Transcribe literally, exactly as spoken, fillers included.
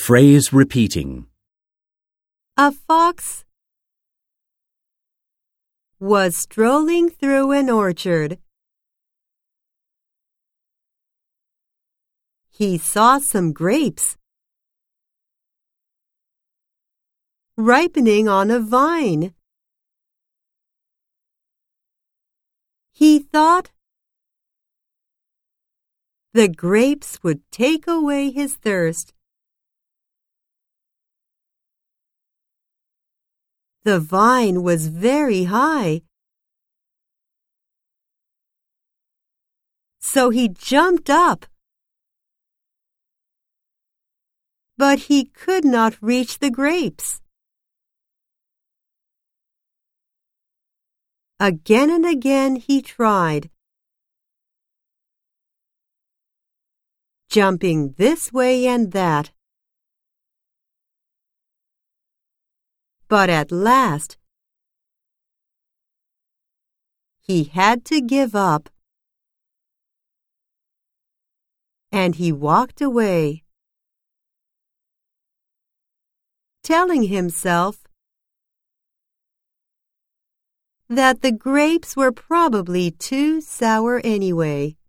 Phrase repeating. A fox was strolling through an orchard. He saw some grapes ripening on a vine. He thought the grapes would take away his thirst. The vine was very high, so he jumped up, but he could not reach the grapes. Again and again he tried, jumping this way and that. But at last, he had to give up, and he walked away, telling himself that the grapes were probably too sour anyway.